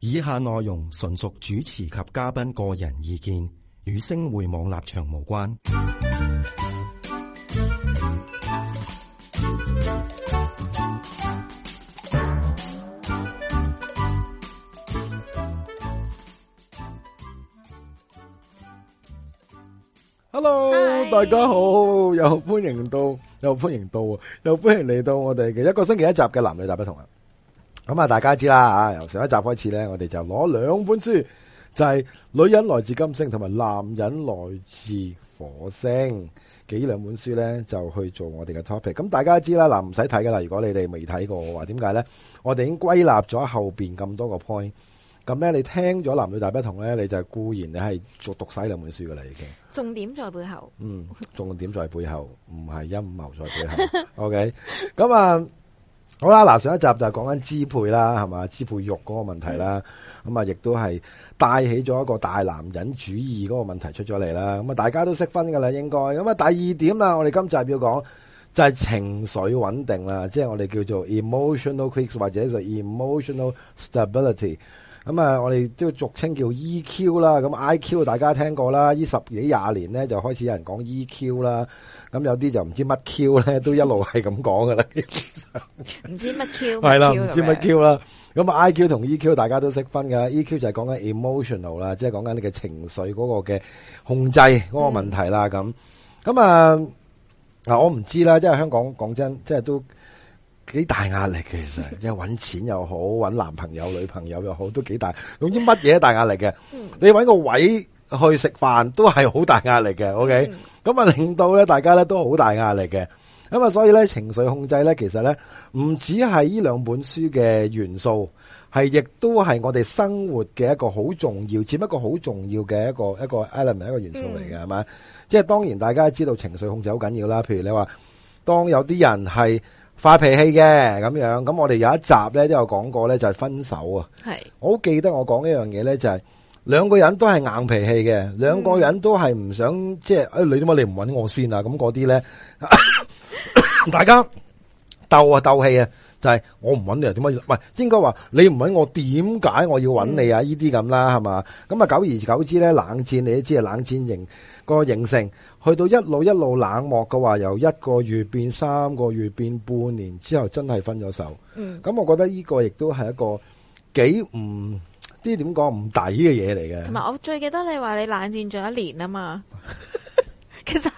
以下內容純屬主持及嘉賓個人意見，與星匯網立場無關。Hello， 大家好，又歡迎嚟到我哋嘅一個星期一集嘅男女大不同啊！咁啊，大家知啦，由上一集開始咧，我哋就攞兩本書，就係、是《女人來自金星》同埋《男人來自火星》幾兩本書咧，就去做我哋嘅 topic。咁大家知啦，唔使睇噶啦。如果你哋未睇過嘅話，點解咧？我哋已經歸納咗後邊咁多個 point。咁咧，你聽咗男女大不同咧，你就固然你係讀晒兩本書噶啦，已經。 重點在背後。 重點在背後，唔係陰謀在背後。OK， 咁啊。好啦，嗱，上一集就係講緊支配啦，係嘛，支配欲嗰個問題啦，咁啊，亦都係帶起咗一個大男人主義嗰個問題出咗嚟啦，咁啊，大家都識分噶啦，應該，咁啊，第二點啦，我哋今集要講就係情緒穩定啦，即係我哋叫做 emotional quicks 或者就 emotional stability， 咁啊，我哋都俗稱叫 EQ 啦，咁 IQ 大家聽過啦，呢10幾20年咧就開始有人講 EQ 啦。咁有啲就唔知乜 Q 咧，都一路係咁講噶啦。 唔知乜 Q 係啦，唔知乜 Q 啦。咁啊 IQ 同 EQ 大家都識分噶 ，EQ 就係講緊 emotional 啦，即係講緊你嘅情緒嗰個嘅控制嗰個問題啦。咁啊嗱，我唔知啦，即係香港講真，即係都幾大壓力嘅，其實，即係搵錢又好，搵男朋友女朋友又好，都幾大。總之乜嘢都大壓力嘅。你搵個位去食飯都係好大壓力嘅。OK。咁啊，令到咧大家咧都好大壓力嘅，咁啊，所以咧情緒控制咧，其實咧唔止係呢兩本書嘅元素，係亦都係我哋生活嘅一個好重要，佔一個好重要嘅一個 element 一個元素嚟嘅，係咪？即係當然大家知道情緒控制好緊要啦。譬如你話，當有啲人係發脾氣嘅咁樣，咁我哋有一集咧都有講過咧，就係分手啊。係，我好記得我講一樣嘢咧，就係。兩個人都係硬脾氣嘅，兩個人都係唔想即係，你點解你唔搵我先啊？咁嗰啲咧，大家鬥氣啊，就係我唔搵你啊？點解？唔係應該話你唔搵我，點解我要搵你啊？呢啲咁啦，係嘛？咁啊，久而久之咧，冷戰你都知係冷戰型個形成，去到一路冷漠嘅話，由1個月變3個月變半年之後，真係分咗手。咁我覺得呢個亦都係一個幾唔。啲點講唔抵嘅嘢嚟嘅，同埋我最記得你話你冷戰咗1年啊嘛，其實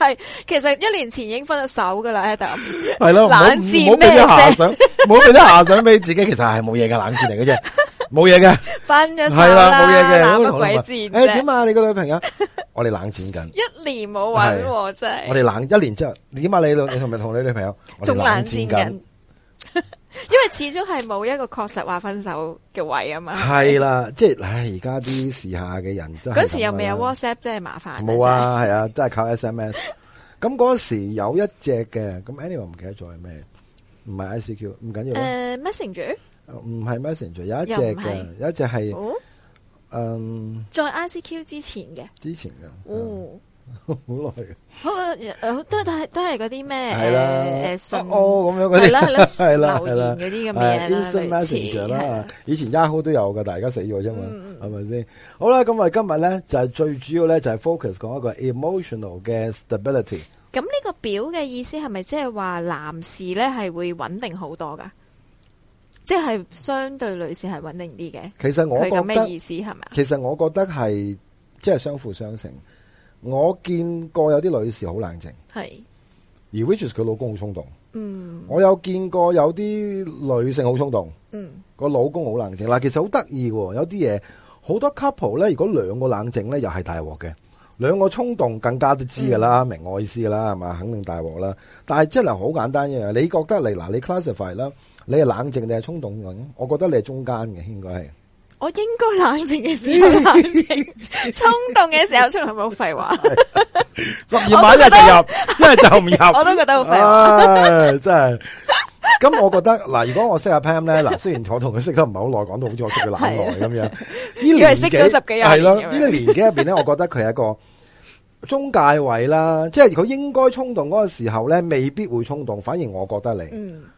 1年前已經分咗手噶啦，Adam。係咯，冷戰咩啫？ 冇俾啲遐想俾自己，其實係冇嘢嘅冷戰嚟嘅啫，冇嘢嘅。 分咗手啦，冇嘢嘅，冷乜鬼戰啫？ 點啊？你個女朋友？我哋冷戰緊 1年冇搵，真係。 我哋冷1年之後，點啊？你同唔同你女朋友？ 仲冷戰緊。因為始終係冇一個確實話分手嘅位啊嘛， 係啦，即係，而家啲時下嘅人都嗰時又未有 WhatsApp，真係麻煩。 冇啊，係啊，都係靠 SMS。咁嗰時有一隻嘅，咁 anyway 唔記得咗係咩，唔係 ICQ， 唔緊要。 Messenger 唔係 Messenger， 有一隻嘅，有一隻係， 在 ICQ 之前嘅， 好耐嘅， 都係嗰啲咩係啦， 信咁樣嗰啲係啦， 留言嗰啲咁嘅 Instant Messenger 啦，以前 Yahoo 都有噶，但係而家死咗啫嘛，係咪先？好啦，咁我哋今日咧就係最主要咧就係 focus 講一個 emotional 嘅 stability。 咁呢個表嘅意思係咪即係話男士咧係會穩定好多噶？即係相對女士係穩定啲嘅？ 其實我覺得咩意思係咪？ 其實我覺得係即係相輔相成。我見過有啲女士好冷靜，係而 which is 佢老公好衝動。我有見過有啲女性好衝動，個老公好冷靜。嗱，其實好得意嘅，有啲嘢好多 couple 咧，如果兩個冷靜咧，又係大鑊嘅；兩個衝動更加都知噶啦，明我意思噶啦，係嘛？肯定大鑊啦。但係真係好簡單一樣，你覺得你 classify 啦，你係冷靜定係衝動嘅？我覺得你係中間嘅，應該係。 我應該冷靜嘅時候冷靜，衝動嘅時候出嚟冇廢話。 12碼一係就入，一係就唔入。 我都覺得好廢話。 真係。咁我覺得嗱，如果我識阿 Pam 咧，嗱，雖然我同佢識得唔係好耐，講到好似我識佢懶耐咁樣。呢年識咗10幾年。 係咯，呢個年紀入邊咧，我覺得佢係一個中介位啦。即係佢應該衝動嗰個時候咧，未必會衝動，反而我覺得你。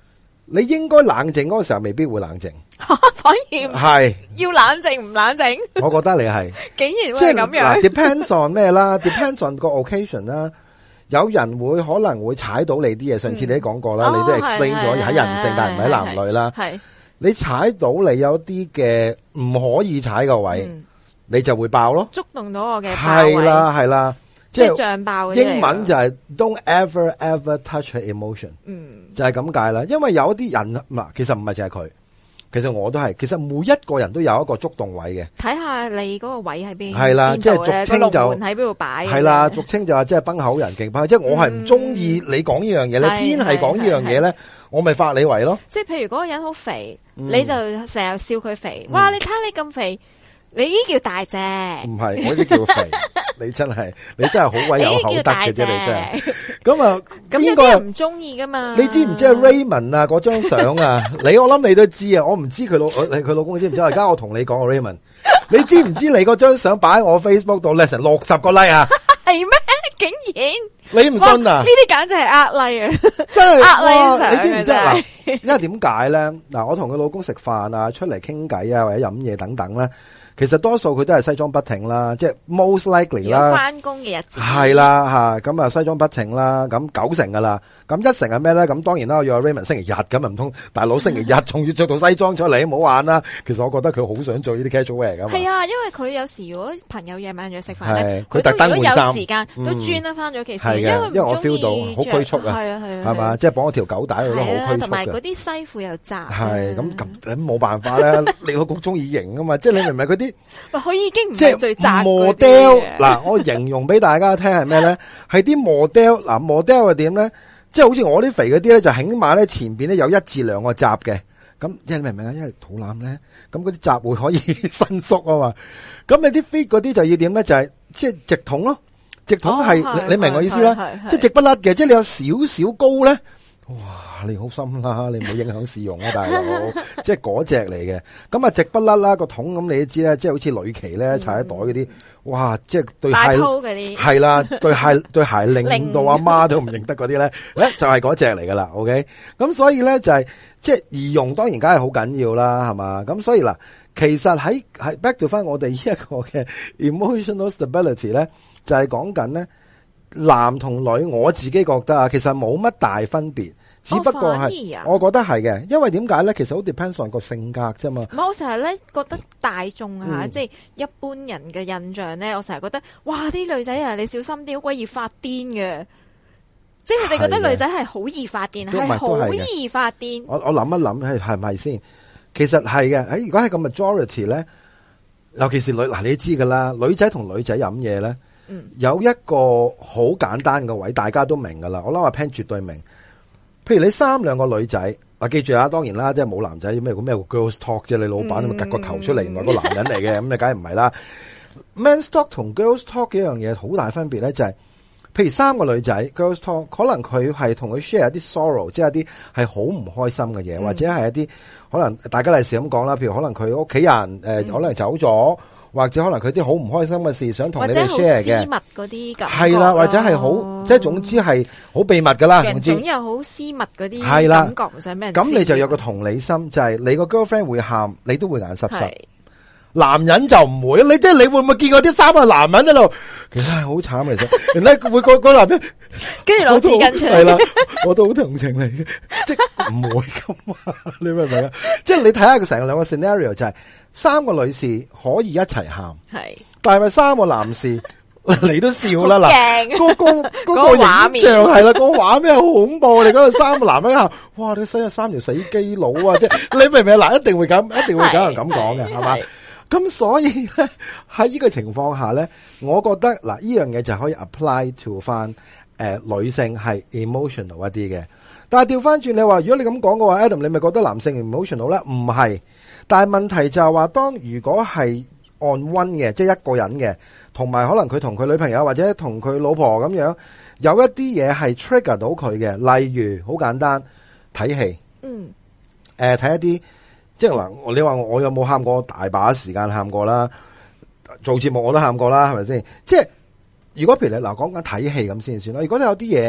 你應該冷靜嗰個時候未必會冷靜， 反而係要冷靜唔冷靜？ 我覺得你係竟然會咁樣。 depends on 咩啦？depends on 個 occasion 啦。有人會可能會踩到你啲嘢，上次你都講過啦，你都 explain 咗喺人性，但係唔喺男女啦。 係你踩到你有啲嘅唔可以踩個位，你就會爆咯， 觸動到我嘅爆位。 係啦， 即係脹爆嗰啲嚟㗎。 英文就係 don't ever touch her emotion，就係咁解啦。因為有啲人其實唔係淨係佢。其實我都係，其實每一個人都有一個觸動位嘅。睇下你嗰個位喺邊， 係啦，即係俗稱就喺邊度擺。 係啦，俗稱就話即係崩口人勁崩，即係我係唔中意你講呢樣嘢，你偏係講呢樣嘢咧，我咪發你圍咯。 即係譬如嗰個人好肥，你就成日笑佢肥。哇！你睇下你咁肥，你呢啲叫大隻。唔係，我呢啲叫肥。你真係好鬼有口德嘅啫，你真係。咁啊， 咁有啲人唔中意噶嘛？ 你知唔知啊 Raymond 啊嗰張相啊？我諗你都知啊，我唔知佢老公知唔知？而家我同你講啊 Raymond， 你知唔知你嗰張相擺喺我 Facebook 度咧成60個 like 啊？ 係咩？竟然你唔信啊？ 呢啲簡直係呃 like 啊！ 真係呃 like 你知唔知嗱？因為點解咧？嗱，我同佢老公食飯啊，出嚟傾偈啊，或者飲嘢等等咧。其實多數佢都係西裝筆挺啦，即係 most likely 啦。 翻工嘅日子係啦吓，咁啊西裝筆挺啦，咁9成噶啦，咁1成係咩咧？咁當然啦，我約 Raymond 星期日咁啊，唔通大佬星期日仲要着到西裝出嚟，唔好玩啦。其實我覺得佢好想做呢啲 casual wear 噶嘛。 係啊，因為佢有時如果朋友夜晚約食飯咧， 佢特登換衫， 有時間都專登翻咗其實， 因為我 feel 到好拘束啊，係嘛，即係綁一條狗帶佢都好拘束， 同埋嗰啲西褲又窄。 係咁冇辦法啦，你老公中意型啊嘛，即係你明唔明嗰啲？ 佢已經唔係最窄 model 嗱，我形容俾大家聽係咩咧？係啲 model 嗱 model 係點咧？即係好似我啲肥嗰啲咧，就起碼咧前邊咧有1至2個閘嘅。咁你明唔明啊？因為肚腩咧，咁嗰啲閘會可以伸縮啊嘛。咁你啲 fit 嗰啲就要點咧？就係即係直筒咯，直筒係你明我意思啦？即係直不甩嘅，即係你有少少高咧。哇！你好心啦，你唔好影響市容啊，大佬，即係嗰隻嚟嘅。咁啊，直不甩啦個筒，咁你都知啦，即係好似女旗咧，踩喺袋嗰啲，哇！即係對鞋係啦，對鞋令到阿媽都唔認得嗰啲咧，就係嗰隻嚟噶啦。OK， 咁所以咧就係即係儀容，當然梗係好緊要啦，係嘛？咁所以嗱，其實喺 back to 翻我哋呢一個嘅 emotional stability 咧，就係講緊咧。男同女，我自己覺得啊，其實冇乜大分別，只不過係，我覺得係嘅，因為點解咧？其實好 depends on 個性格啫嘛。 我成日咧覺得大眾啊，即係一般人嘅印象咧，我成日覺得，哇！啲女仔啊，你小心啲，好鬼易發癲嘅，即係佢哋覺得女仔係好易發癲，係好易發癲。我諗一諗係咪先？其實係嘅，如果係個 majority 咧，尤其是女嗱，你知噶啦，女仔同女仔飲嘢咧。有一個好簡單嘅位，大家都明噶啦。我諗阿 Pan 絕對明。譬如你3-2個女仔，記住啊，當然啦，即係冇男仔咩 girls talk 啫。你老闆咁咪夾個頭出嚟，原來個男人嚟嘅，咁你梗係唔係啦。Men's talk 同 girls talk 幾樣嘢好大分別咧，就係譬如3個女仔 girls talk， 可能佢係同佢 share 一啲 sorrow， 即係一啲係好唔開心嘅嘢，或者係一啲可能大家例時咁講啦。譬如可能佢屋企人可能走咗。或者可能佢啲好唔開心嘅事想同你哋 share 嘅， 私密嗰啲咁， 係啦，或者係好，即係總之係好秘密噶啦，總之又好私密嗰啲，係啦，感覺唔想俾人知。 咁你就有個同理心，就係你個 girlfriend 會喊，你都會眼濕濕。男人就唔會，你即係你會唔會見過啲3個男人喺度？其實係好慘，其實人咧會個男人跟住攞紙巾出嚟， 係啦，我都好同情你嘅，即係唔會噶嘛？你明唔明啊？即係你睇下佢成個2個 scenario 就係。3個女士可以一齊喊，係，但係咪3個男士你都笑啦嗱，嗰個影像係啦，個畫面好恐怖，你嗰度3個男人喊，哇！你死咗3條死基佬啊！即係你明唔明啊？嗱，一定會咁有人咁講嘅，係嘛？咁所以咧喺呢個情況下咧，我覺得嗱，呢樣嘢就可以 apply to 翻女性係 emotional 一啲嘅，但係調翻轉你話，如果你咁講嘅話 ，Adam 你咪覺得男性 emotional 咧？唔係。但係問題就係話，當如果係 on one 嘅，即係一個人嘅，同埋可能佢同佢女朋友或者同佢老婆咁樣，有一啲嘢係 trigger 到佢嘅，例如好簡單睇戲，睇一啲，即係話你話我有冇喊過？大把時間喊過啦，做節目我都喊過啦，係咪先？即係如果譬如你嗱講緊睇戲咁先算啦，如果你有啲嘢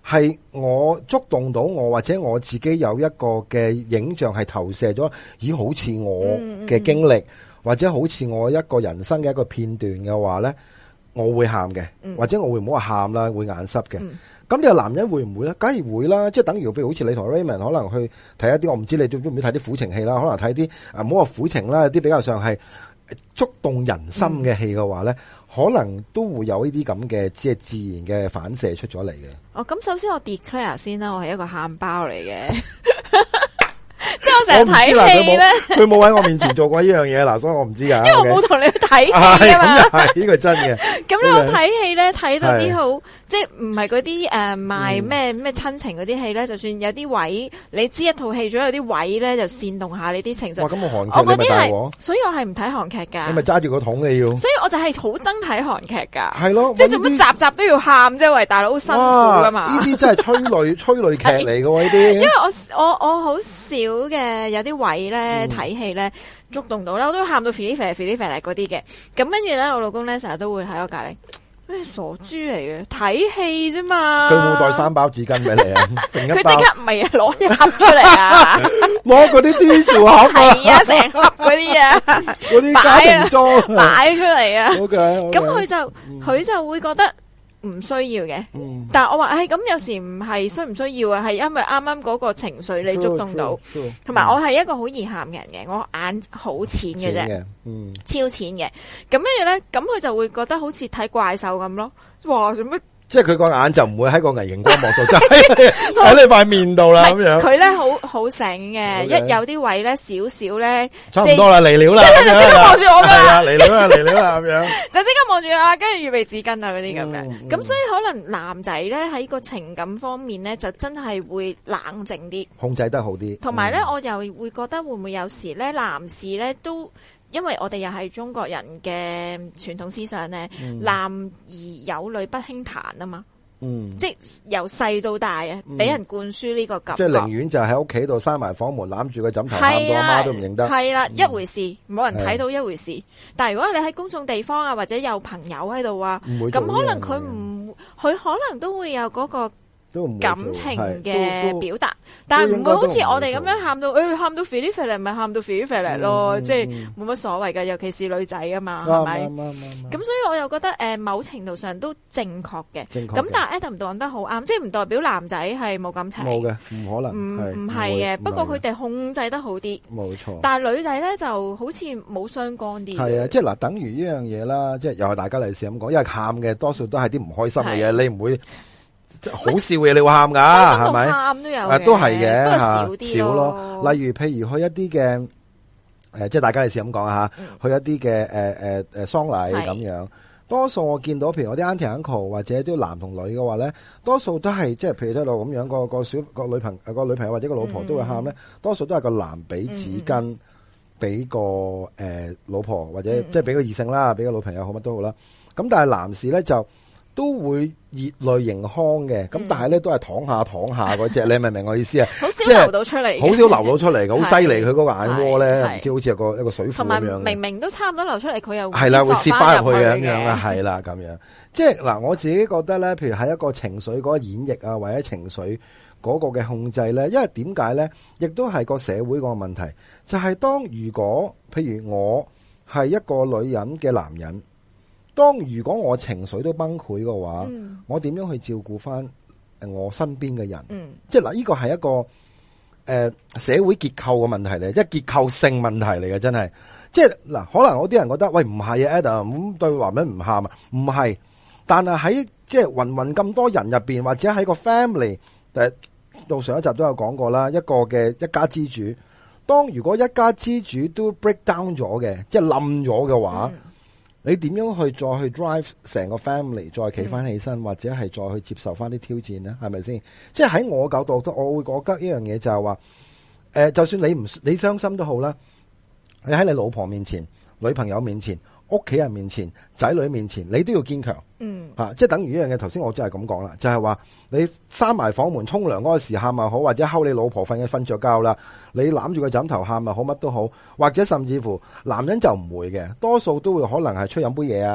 係我觸動到我，或者我自己有一個嘅影像係投射咗，咦，好似我嘅經歷，或者好似我一個人生嘅一個片段嘅話咧，我會喊嘅，或者我會唔好話喊啦，會眼濕嘅。咁你個男人會唔會咧？梗係會啦，即係等於譬如好似你同 Raymond 可能去睇一啲，我唔知你中唔中意睇啲苦情戲啦，可能睇啲唔好話苦情啦，有啲比較上係觸動人心嘅戲嘅話咧，可能都會有呢啲咁嘅即係自然嘅反射出咗嚟嘅。 哦，咁首先我 declare 先啦，我係一個喊包嚟嘅。即係我成日睇戲咧， 佢冇喺我面前做過呢樣嘢嗱，所以我唔知噶。 因為我冇同你去睇戲啊嘛。 係呢個真嘅。 咁你我睇戲咧，睇到啲好，即係唔係嗰啲賣咩親情嗰啲戲咧，就算有啲位，你知一套戲總有啲位咧就煽動下你啲情緒。 哇，咁我韓劇你咪大鑊。 所以我係唔睇韓劇噶。 你咪揸住個桶你要。所以我就係好憎睇韓劇噶。 係咯。 即係做乜集集都要喊啫？喂，大佬好辛苦噶嘛。 呢啲真係催淚劇嚟嘅喎，呢啲。因為我好少嘅有啲位咧睇戲咧觸動到啦，我都喊到肥哩肥嗰啲嘅。咁跟住咧，我老公咧成日都會喺我隔籬，咩傻豬嚟嘅，睇戲啫嘛。 佢冇帶3包紙巾俾你啊？ 佢即刻唔係攞一盒出嚟啊！ 攞嗰啲啲做盒啊！ 係啊，成盒嗰啲啊， 嗰啲家庭裝擺出嚟啊。 OK， 咁佢就會覺得唔需要嘅，但係我話，咁有時唔係需唔需要啊？係因為啱啱嗰個情緒你觸動到，同埋我係一個好易喊嘅人嘅，我眼好淺嘅啫，超淺嘅。咁跟住咧，咁佢就會覺得好似睇怪獸咁咯。哇，做乜？ 即係佢個眼就唔會喺個微熒光幕度，就喺你塊面度啦咁樣。 佢咧好醒嘅，一有啲位咧少少咧， 差唔多啦，嚟料啦， 即刻望住我噶啦， 嚟料啦咁樣， 就即刻望住啊，跟住預備紙巾啊嗰啲咁樣。咁所以可能男仔咧喺個情感方面咧，就真係會冷靜啲， 控制得好啲。 同埋咧，我又會覺得會唔會有時咧，男士咧都。因為我哋又係中國人嘅傳統思想咧，男兒有淚不輕彈啊嘛，即係由細到大啊，俾人灌輸呢個感覺。 即係寧願就喺屋企度閂埋房門，攬住個枕頭喊到阿媽都唔認得。 係啦，一回事，冇人睇到一回事。但係如果你喺公眾地方啊，或者有朋友喺度啊，咁可能佢可能都會有嗰個感情嘅表達，但係唔會好似我哋咁樣喊到，喊到肥哩肥嚟，咪喊到肥哩肥嚟咯，即係冇乜所謂㗎，尤其是女仔啊嘛，係咪？咁所以我又覺得某程度上都正確嘅。咁但係 Adam 講得好啱，即係唔代表男仔係冇感情。 冇嘅，唔可能。 唔係嘅，不過佢哋控制得好啲。 冇錯。但係女仔咧就好似冇相干啲。 係啊，即係嗱，等於呢樣嘢啦，即係又係大家嚟試咁講，因為喊嘅多數都係啲唔開心嘅嘢，你唔會。好笑嘅嘢你會喊噶，係咪？喊都有嘅，都係嘅，不過少啲少咯。例如，譬如去一啲嘅即係大家嚟試咁講吓，去一啲嘅喪禮咁樣，多數我見到，譬如我啲 auntie uncle 或者啲男同女嘅話咧，多數都係即係譬如喺度咁樣個女朋友或者個老婆都會喊咧，多數都係個男俾紙巾俾個老婆或者即係俾個異性啦，俾個老朋友好乜都好啦。咁但係男士咧就。都會熱淚盈眶嘅，咁但係咧都係躺下嗰隻，你明唔明我意思啊？ 好少流到出嚟， 好少流到出嚟，好犀利佢嗰個眼窩咧，唔知好似有一個水庫咁樣。 同埋明明都差唔多流出嚟，佢又係啦，會泄翻入去嘅咁樣啊，係啦咁樣。即係嗱，我自己覺得咧，譬如喺一個情緒嗰個演繹啊，或者情緒嗰個嘅控制咧，因為點解咧，亦都係個社會個問題，就係當如果譬如我係一個女人嘅男人。當如果我情緒都崩潰嘅話，我點樣去照顧翻我身邊嘅人？即係嗱，呢個係一個社會結構嘅問題嚟，即係結構性問題嚟嘅，真係。即係嗱，可能有啲人覺得喂唔係啊 Adam 咁對男人唔喊啊，唔係。但係喺即係芸咁多人入邊，或者喺個 family， 到上一集都有講過啦，一個嘅一家之主。當如果一家之主都 break down 咗嘅，即係冧咗嘅話。你點樣去再去 drive 成個 family 再企翻起身，或者係再去接受翻啲挑戰咧？係咪先？即係喺我角度，我會覺得呢樣嘢就係話，就算你傷心都好啦，你喺你老婆面前、女朋友面前、屋企人面前、仔女面前，你都要堅強。即係等於呢樣嘢。頭先我真係咁講啦，就係話你閂埋房門沖涼嗰個時喊又好，或者睺你老婆瞓着覺啦，你攬住個枕頭喊又好，乜都好，或者甚至乎男人就唔會嘅，多數都會可能係出飲杯嘢啊，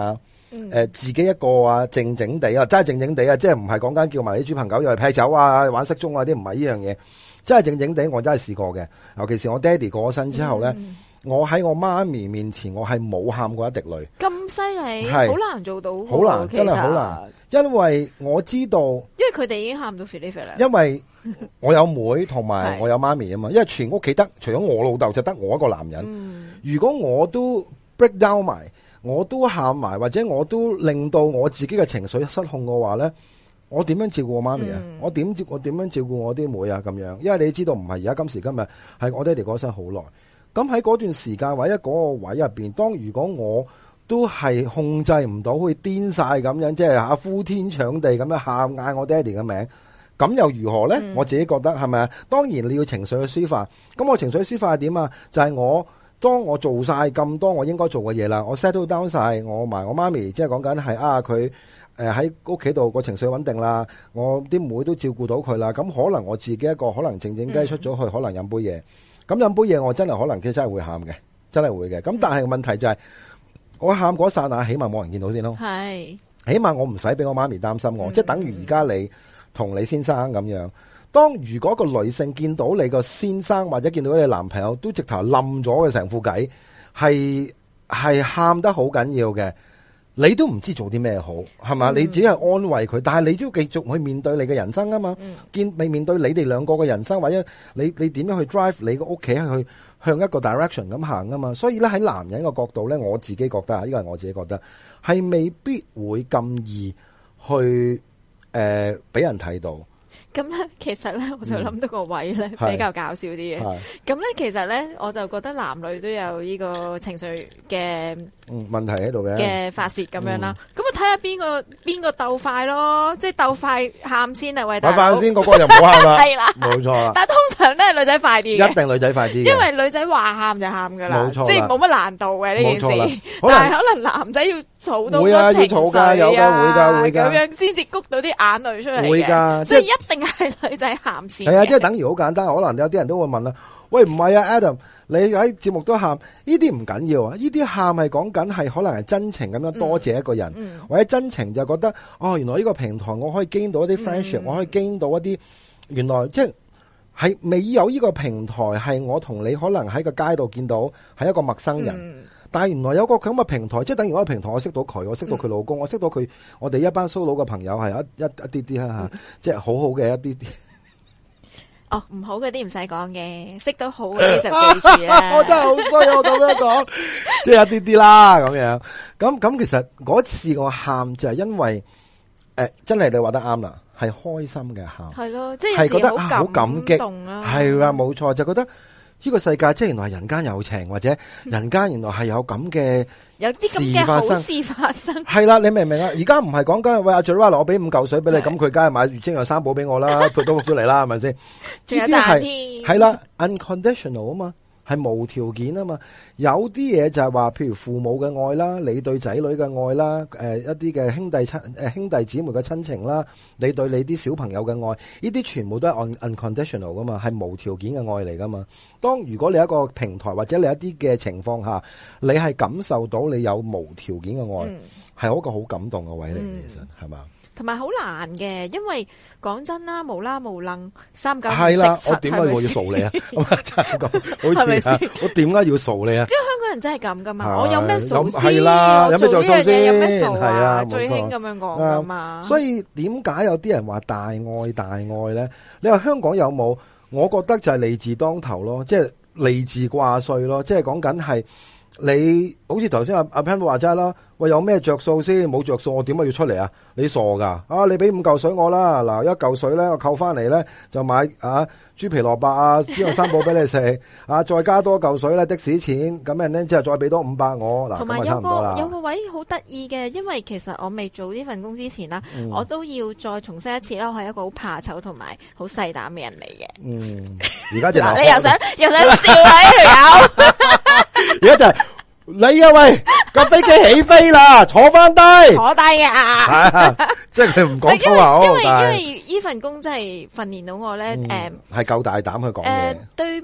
自己一個啊，靜靜地啊，真係靜靜地啊，即係唔係講緊叫埋啲豬朋狗友嚟劈酒啊、玩骰盅啊啲，唔係呢樣嘢，真係靜靜地，我真係試過嘅。尤其是我爹哋過咗身之後咧，我喺我媽咪面前，我係冇喊過一滴淚。 咁犀利， 係好難做到， 好難，真係好難。因為我知道， 因為佢哋已經喊到肥呢肥啦。 因為我有妹同埋我有媽咪啊嘛，因為全屋企得除咗我老豆就得我一個男人。如果我都 break down 埋，我都喊埋，或者我都令到我自己嘅情緒失控嘅話咧，我點樣照顧我媽咪啊？我點樣照顧我啲妹啊？咁樣，因為你知道唔係而家今時今日係我爹哋過身好耐，咁喺嗰段時間或者嗰個位入邊，當如果我都係控制唔到，會癲晒咁樣，即係呼天搶地咁樣喊嗌我爹哋嘅名，咁又如何咧？我自己覺得係咪啊？當然你要情緒去抒發，咁我情緒抒發係點啊？就係當我做晒咁多我應該做嘅嘢啦，我 settle down 晒，我埋我媽咪，即係講緊係佢喺屋企度個情緒穩定啦，我啲妹都照顧到佢啦，咁可能我自己一個可能靜靜雞出咗去，可能飲杯嘢，咁飲杯嘢我真係可能真係會喊嘅，真係會嘅。咁但係問題就係我喊嗰剎那，起碼冇人見到先咯， 係， 起碼我唔使俾我媽咪擔心我，即係等於而家你同你先生咁樣。當如果個女性見到你個先生或者見到你男朋友都直頭冧咗嘅成副計，係喊得好緊要嘅，你都唔知做啲咩好，係嘛？你只係安慰佢，但係你都要繼續去面對你嘅人生啊嘛。面對你哋兩個嘅人生，或者你點樣去 drive 你個屋企去向一個 direction 咁行啊嘛。所以咧喺男人嘅角度咧，我自己覺得呢個係我自己覺得係未必會咁易去俾人睇到。 咁咧，其實咧，我就諗到個位咧，比較搞笑啲嘅。咁咧，其實咧，我就覺得男女都有呢個情緒嘅問題喺度嘅發泄咁樣啦。咁啊，睇下邊個鬥快咯，即係鬥快喊先啊！喂，大佬， 鬥快先，個個就唔好喊啦。 係啦， 冇錯啦。 但係通常都係女仔快啲嘅， 一定女仔快啲， 因為女仔話喊就喊噶啦， 冇錯， 即係冇乜難度嘅呢件事。但係可能男仔要儲到個情緒啊，有㗎，會㗎， 咁樣先至谷到啲眼淚出嚟嘅。 會㗎， 即係一定係女仔喊先。 係啊，即係等於好簡單，可能有啲人都會問啦，喂，唔係啊 Adam， 你喺節目都喊，呢啲唔緊要啊，呢啲喊係講緊係可能係真情咁樣多謝一個人，或者真情就覺得原來呢個平台我可以 gain 到一啲 friendship，我可以 gain 到一啲原來即係未有呢個平台係我同你可能喺個街度見到係一個陌生人。但係原來有個咁嘅平台，即係等於嗰個平台，我識到佢，我識到佢老公，我識到佢，我哋一班 solo 嘅朋友係一啲啲啦吓，即係好好嘅一啲啲。 哦，唔好嗰啲唔使講嘅，識到好嗰啲就記住啦。 我真係好衰，我咁樣講，即係一啲啲啦咁樣。咁其實嗰次我喊就係因為真係你話得啱啦，係開心嘅喊， 係咯，即係覺得好感激，係啦，冇錯，就覺得。呢個世界即係原來人間有情，或者人間原來係有咁嘅有啲咁嘅好事發生。 係啦，你明唔明啊？而家唔係講緊喂阿 Joanna，我俾5嚿水俾你，咁佢梗係買月晶有3寶俾我啦，佢都錄咗嚟啦，係咪先？ 仲有賺添。 係啦 ，unconditional 啊嘛。係無條件啊嘛，有啲嘢就係話，譬如父母嘅愛啦，你對仔女嘅愛啦，一啲嘅兄弟姊妹嘅親情啦，你對你啲小朋友嘅愛，呢啲全部都係 unconditional 噶嘛，係無條件嘅愛嚟噶嘛。當如果你一個平台或者你一啲嘅情況下，你係感受到你有無條件嘅愛，係一個好感動嘅位嚟嘅，其實係嘛？ 同埋好難嘅，因為講真啦，無啦無楞3九係啦，我點解我要掃你啊？真係咁，好似啊，我點解要掃你啊？ 因為香港人真係咁噶嘛，我有咩掃先？ 係啦，有咩做掃先？ 有咩掃係啊， 最興咁樣講噶嘛。 所以點解有啲人話大愛大愛咧？你話香港有冇？我覺得就係利字當頭咯，即係利字掛帥咯，即係講緊係。你好似頭先阿 Pan 話齋啦，喂，有咩着數先？冇着數我點解要出嚟啊？你傻噶？你俾5嚿水我啦，嗱1嚿水咧我扣翻嚟咧就買豬皮蘿蔔啊，豬肉3寶俾你食再加多嚿水咧的士錢，咁樣咧之後再俾多500我嗱， 同埋差唔多啦。 有個位好得意嘅，因為其實我未做呢份工之前啦，我都要再重申一次啦，我係一個好怕醜同埋好細膽嘅人嚟嘅。 而家就嗱，你又想笑啊呢條友？ 而家就係你啊喂，架飛機起飛啦，坐翻低， 坐低啊！ 即係佢唔講粗口， 因為呢份工真係訓練到我咧， 係夠大膽去講嘢。 對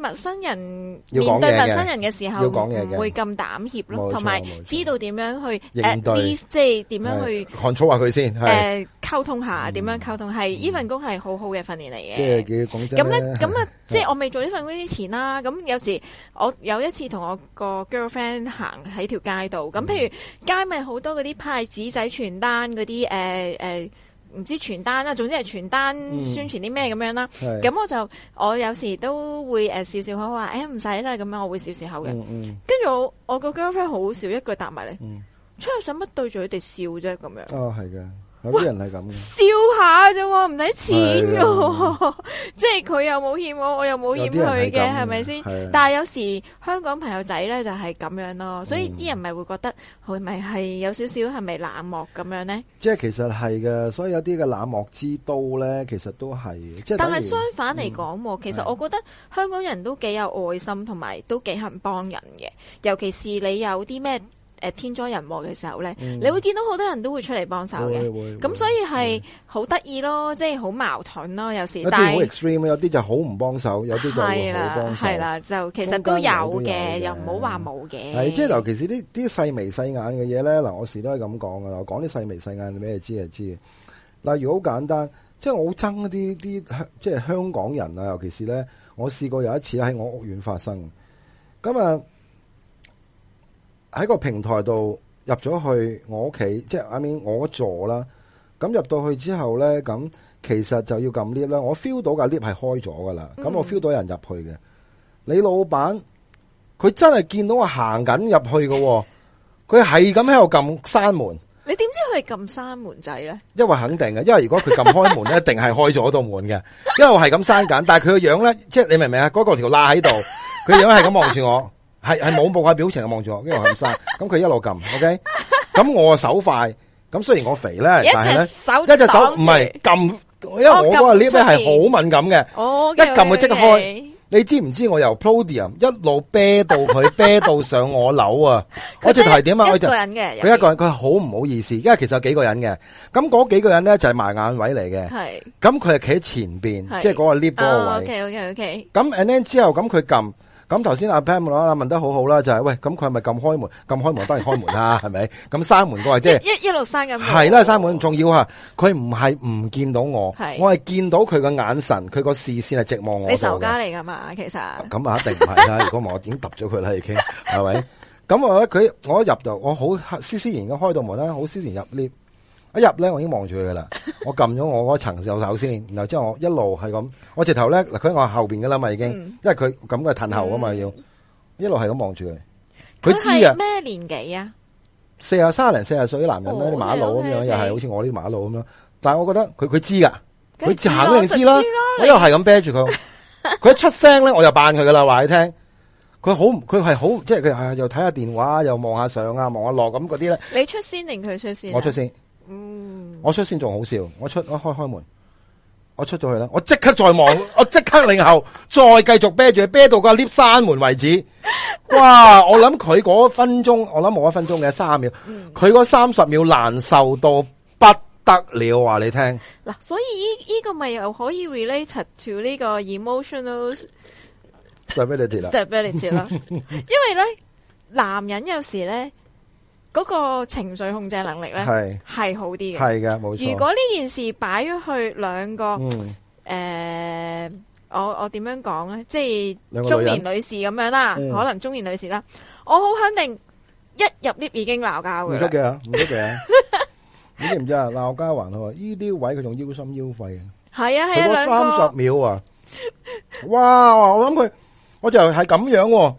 陌生人要講嘢嘅面對陌生人嘅時候， 要講嘢嘅唔會咁膽怯咯， 冇錯同埋冇錯知道點樣去應對 at least 即係點樣去 control 下佢先，係溝通下，點樣溝通係呢份工係好好嘅訓練嚟嘅。 即係講真咁咧，咁啊，即係我未做呢份工之前啦。咁有時我有一次同我個 girlfriend 行喺條街度，咁譬如街咪好多嗰啲派紙仔傳單嗰啲唔知傳單啦，總之係傳單宣傳啲咩咁樣啦。咁我有時都會笑笑口話，唔使啦，咁樣我會笑笑口嘅。跟住我個 girlfriend 好笑，一句答埋嚟，出去使乜對住佢哋笑啫咁樣。 哦，係嘅。有啲人係咁嘅， 笑下啫喎，唔使錢嘅，即係佢又冇欠我又冇欠佢嘅，係咪先？但係有時香港朋友仔咧就係咁樣咯，所以啲人咪會覺得係咪係有少少係咪冷漠咁樣咧？ 即係其實係嘅，所以有啲嘅冷漠之都咧，其實都係。即係但係相反嚟講，其實我覺得香港人都幾有愛心，同埋都幾肯幫人嘅，尤其是你有啲咩天災人禍嘅時候咧，你會見到好多人都會出嚟幫手嘅，咁所以係好得意咯，即係好矛盾咯，有時。有啲好 extreme， 有啲就好唔幫手，有啲就會好幫手。 係啦，就其實都有嘅，又唔好話冇嘅。 係，即係尤其是啲細眉細眼嘅嘢咧，嗱，我時都係咁講噶啦，我講啲細眉細眼，你咩知就知。例如好簡單，即係我好憎啲即係香港人啊，尤其是咧，我試過有一次喺我屋苑發生，咁啊。喺個平台度入咗去我屋企，即係我座啦。咁入到去之後咧，咁其實就要撳 lift 啦。我 feel 到架 lift 係開咗噶啦。咁我 feel 到有人入去嘅。你老闆佢真係見到我行緊入去嘅，佢係咁喺度撳閂門。 你點知佢係撳閂門仔咧？ 因為肯定嘅，因為如果佢撳開門咧，一定係開咗道門嘅。因為我係咁閂緊，但係佢個樣咧，即係你明唔明啊？嗰個條罅喺度，佢樣係咁望住我。係冇冇下表情望住我，因為我咁生，咁佢一路撳 ，OK， 咁我手快，咁雖然我肥咧，但係咧一隻手唔係撳，因為我嗰個 lift 咧係好敏感嘅，一撳佢即刻開。你知唔知我由 podium 一路啤到佢啤到上我樓啊？我直頭係點啊？ 一個人嘅， 佢一個人，佢好唔好意思，因為其實有幾個人嘅，咁嗰幾個人咧就係埋眼位嚟嘅，係，咁佢係企喺前邊，即係嗰個 lift 嗰個位 ，OK， 咁 and then 之後咁佢撳。咁頭先阿 Pam 問得好好啦，就係喂，咁佢係咪撳開門？撳開門當然開門啦，係咪？咁閂門嗰個即係一路閂緊。 係啦，閂門重要啊！佢唔係唔見到我，我係見到佢個眼神，佢個視線係直望我。 你仇家嚟噶嘛？其實咁啊，一定唔係啦。如果唔係我已經揼咗佢啦，已經係咪？咁我一入到，我好斯斯然咁開到門啦，好斯然入 lift。一入咧，我已經望住佢噶啦。我撳咗我嗰層右手先，然後之後我一路係咁，我直頭咧嗱，佢喺我後邊噶啦嘛，已經，因為佢咁嘅褪後啊嘛，要一路係咁望住佢。佢知啊。 咩年紀啊 ？30零40歲啲男人咧，啲馬路咁樣，又係好似我啲馬路咁樣。但係我覺得佢知噶，佢行都一定知啦。我又係咁啤住佢，佢一出聲咧，我就扮佢噶啦，話你聽。佢係好，即係佢又睇下電話，又望下上啊，望下落咁嗰啲咧。 你出先定佢出先？ 我出先。我出先仲好笑，我開門，我出咗去啦，我即刻再望，我即刻擰後，再繼續啤住，啤到個 lift 閂門為止。哇！我諗佢嗰分鐘，我諗冇1分鐘嘅3秒，佢嗰30秒難受到不得了，話你聽。 嗱，所以呢個咪又可以 relate to 呢個 emotional stability 啦，因為咧男人有時咧。嗰個情緒控制能力咧係好啲嘅， 係嘅，冇錯。 如果呢件事擺咗去兩個我點樣講咧？即係中年女士咁樣啦，可能中年女士啦，我好肯定一入 lift 已經鬧交嘅。 唔得嘅，唔得嘅，你知唔知啊？鬧交還好，呢啲位佢仲腰心腰肺嘅。 係啊係啊，兩個 30秒啊！哇！我諗佢，我就係咁樣。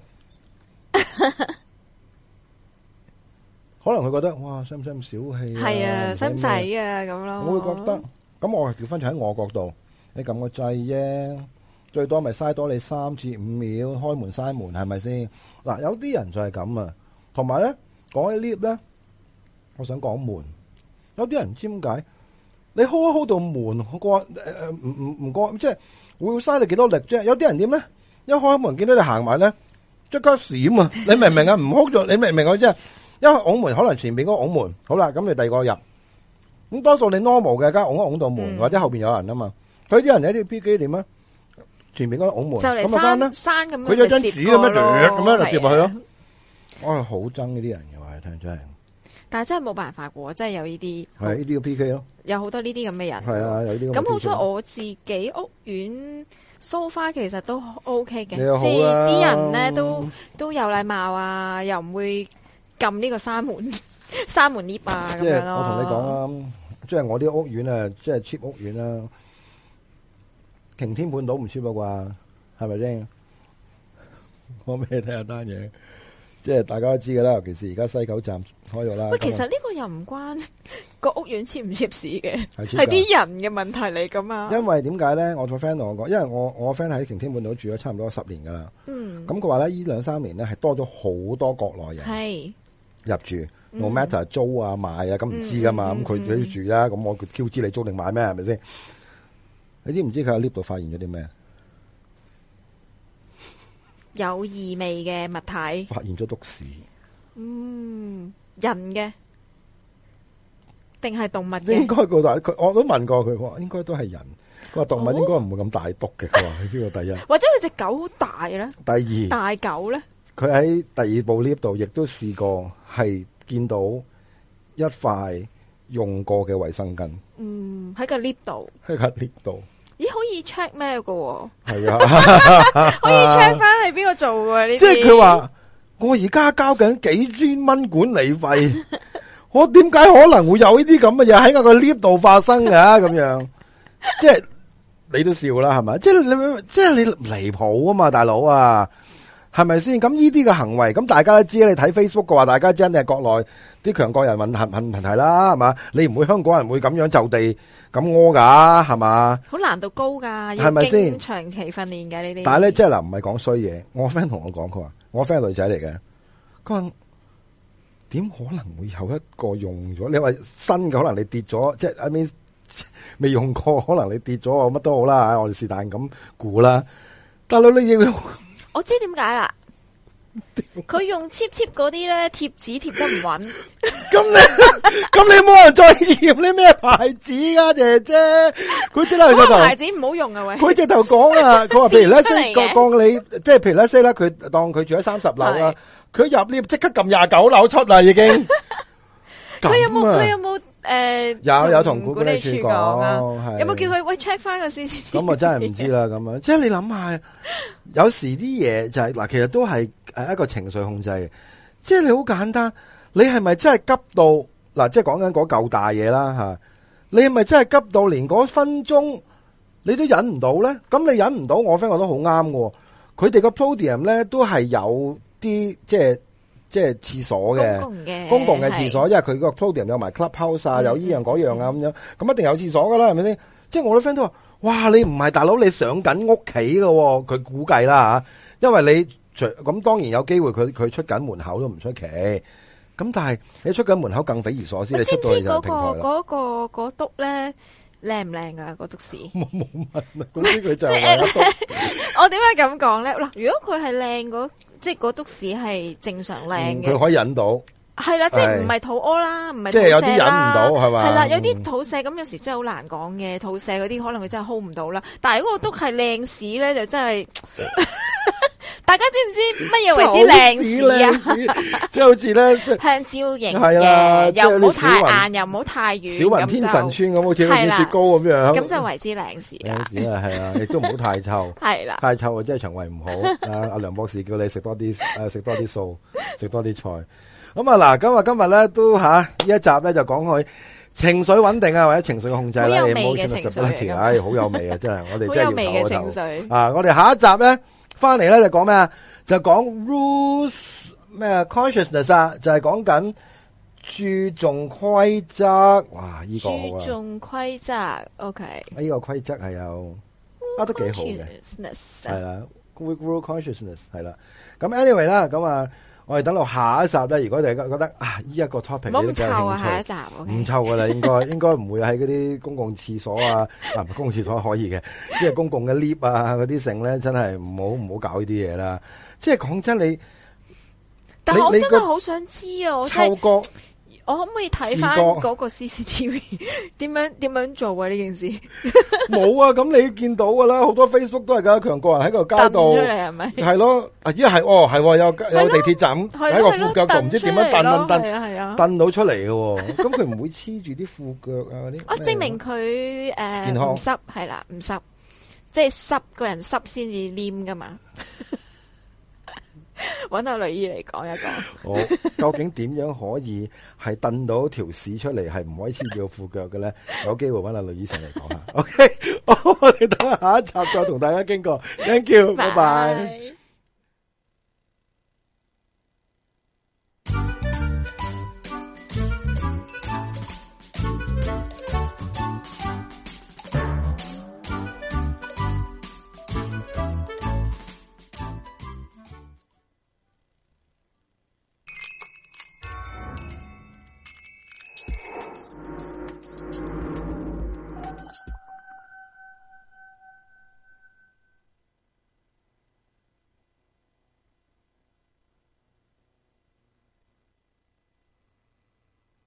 可能佢覺得哇，使唔使咁小氣啊？ 係啊，使唔使啊咁咯？ 我會覺得，咁我調翻轉喺我角度，你撳個掣啫，最多咪嘥多你3至5秒開門閂門，係咪先？嗱，有啲人就係咁啊。同埋咧，講起 lift 咧，我想講門，有啲人唔知點解，你 hold 一 hold 到門，過唔過，即係會嘥你幾多力啫？有啲人點咧？一開門見到你行埋咧，即刻閃啊！你明唔明啊？唔 hold 咗，你明唔明我即係？因為拱門可能前邊嗰個拱門好啦，咁你第二個入，咁多數你 normal 嘅，梗係拱一拱到門，或者後邊有人啊嘛。佢啲人有啲 P 機點啊？ 前面嗰個拱門， 就嚟咁啊山咁樣， 佢有張紙咁樣咁樣就接落去咯。 係啊我係好憎呢啲人嘅話，聽真係。 但係真係冇辦法嘅，真係有呢啲係呢啲嘅 PK 咯。 有好多呢啲咁嘅人。 係啊，有啲咁好彩我自己屋苑so far其實都 OK 嘅， 你又好啦即係啲人咧都有禮貌啊，又唔會撳呢個閂門 lift 啊咁即係樣咯。 我同你講啦，即係我啲屋苑啊，即係 cheap 屋苑啦，擎天半島唔 cheap 啊啩，係咪先？講俾你聽下單嘢，即係大家都知噶啦，尤其是而家西九站開咗啦。 喂，其實呢個又唔關個屋苑cheap唔cheap事嘅， 係係啲人嘅問題嚟噶嘛。 因為點解咧？我個 friend 同我講，因為我 friend 喺擎天半島住咗差唔多10年噶啦。 嗯， 咁佢話咧，呢2-3年咧係多咗好多國內人係入住，no matter 租啊買啊，咁唔知噶嘛。咁佢都住啦，咁我 Q 知你租定買咩？係咪先？你知唔知佢喺 lift 度發現咗啲咩？ 有異味嘅物體， 發現咗篤屎。 人嘅定係動物嘅？ 應該佢我都問過佢，話應該都係人。佢話動物應該唔會咁大篤嘅。佢話呢個第一。 或者佢隻狗好大咧？ 第二， 大狗咧？ 佢喺第二部 lift 度亦都試過係見到一塊用過嘅衛生巾。 喺個 lift 度。 喺個 lift 度。 咦，可以 check 咩嘅？ 係啊， 可以 check 翻係邊個做嘅呢啲？ 即係佢話我而家交緊幾千蚊管理費，我點解可能會有呢啲咁嘅嘢喺我個 lift 度發生嘅咁樣？即係你都笑啦，係咪？即係你離譜啊嘛，大佬啊！係咪先？咁呢啲嘅行為，咁大家都知，你睇 Facebook 嘅話，大家真係國內啲強國人問題啦，係嘛？你唔會香港人會咁樣就地咁屙噶，係嘛？ 好難度高噶， 係咪先？ 要經長期訓練嘅呢啲。 但係咧，即係嗱，唔係講衰嘢。我 friend 同我講，佢話我 friend 係女仔嚟嘅，佢話點可能會有一個用咗？你話新嘅，可能你跌咗，即係 I mean 未用過，可能你跌咗，乜都好啦，我哋是但咁估啦。大佬你要。 我知點解啦，佢用 cheap 嗰啲咧貼紙貼得唔穩。 咁你冇人再驗你咩牌子噶，姐姐？佢即係牌子唔好用啊喂！ 佢直頭講啊，佢話譬如咧，當你即係譬如咧，啦，佢當佢住喺30樓啦，佢入 lift 即刻撳29樓出啦，已經。 佢有冇？ 有同管理處講啊， 有冇叫佢喂 check 翻個 CCTV？ 咁啊真係唔知啦，咁樣即係你諗下，有時啲嘢就係嗱，其實都係一個情緒控制嘅，即係你好簡單，你係咪真係急到嗱？即係講緊嗰嚿大嘢啦吓，你係咪真係急到連嗰分鐘你都忍唔到咧？咁你忍唔到，我 friend 覺得好啱嘅，佢哋個 podium 咧都係有啲即係廁所嘅公共嘅廁所，因為佢個 podium 有埋 clubhouse 啊，有依樣嗰樣啊咁樣，咁一定有廁所噶啦，係咪先？即係我啲 friend 都話，哇！你唔係大佬，你上緊屋企嘅，佢估計啦吓，因為你咁當然有機會佢出緊門口都唔出奇，咁但係你出緊門口更匪夷所思，你出到去就平台啦。 嗰篤咧靚唔靚噶？嗰篤屎冇問，總之佢就我點解咁講咧？嗱，如果佢係靚即係嗰篤屎係正常靚嘅， 佢可以忍到。 係啦，即係唔係肚屙啦，唔係即係有啲忍唔到係嘛？ 係啦，有啲肚瀉咁，有時真係好難講嘅。肚瀉嗰啲可能佢真係 hold 唔到啦。但係如果個篤係靚屎咧，就真係大家知唔知乜嘢為之靚屎啊？ 即係好似咧香蕉型係啦， 又唔好太硬，又唔好太軟， 小雲天神村咁，好似啲雪糕咁樣， 咁就為之靚屎啦。 係啊，亦都唔好太臭， 係啦， 太臭啊，真係腸胃唔好。阿梁博士叫你食多啲素，食多啲菜。咁啊嗱，今日咧都呢一集咧就講佢情緒穩定啊，或者情緒控制啦，emotional stability，好有味啊，真係我哋真係要唞一唞啊！我哋下一集咧翻嚟咧就講咩啊？就講 rules 咩 consciousness 啊，就係講緊注重規則。哇！呢個好啊， 注重規則 ，OK。 呢個規則係有都幾好嘅，係啦 rule consciousness 係啦。咁 anyway 啦，咁啊。我哋等到下一集咧，如果大家覺得呢一個 topic 你都有興趣， 下一集唔臭噶啦，應該唔會喺嗰啲公共廁所啊，唔係公共廁所可以嘅，即係公共嘅 lift 啊嗰啲剩咧，真係唔好搞呢啲嘢啦。即係講真， 但係我真係好想知啊，我嗅覺我可唔可以睇翻嗰個 CCTV 點樣做啊？呢件事冇啊！咁你見到噶啦，好多 Facebook 都係噶，強國人喺個街道出嚟係咪？ 係咯，係有地鐵站喺個褲腳度，唔知點樣蹬到出嚟嘅，咁佢唔會黐住啲褲腳啊嗰啲。 我證明佢健康唔濕係啦，唔濕，即係濕個人濕先至黏噶嘛。揾阿女醫嚟講一講。 好，究竟點樣可以係蹬到條屎出嚟，係唔可以黐住個褲腳嘅咧？有機會揾阿女醫生嚟講下。OK， 我哋等下一集再同大家經過。Thank you，拜拜。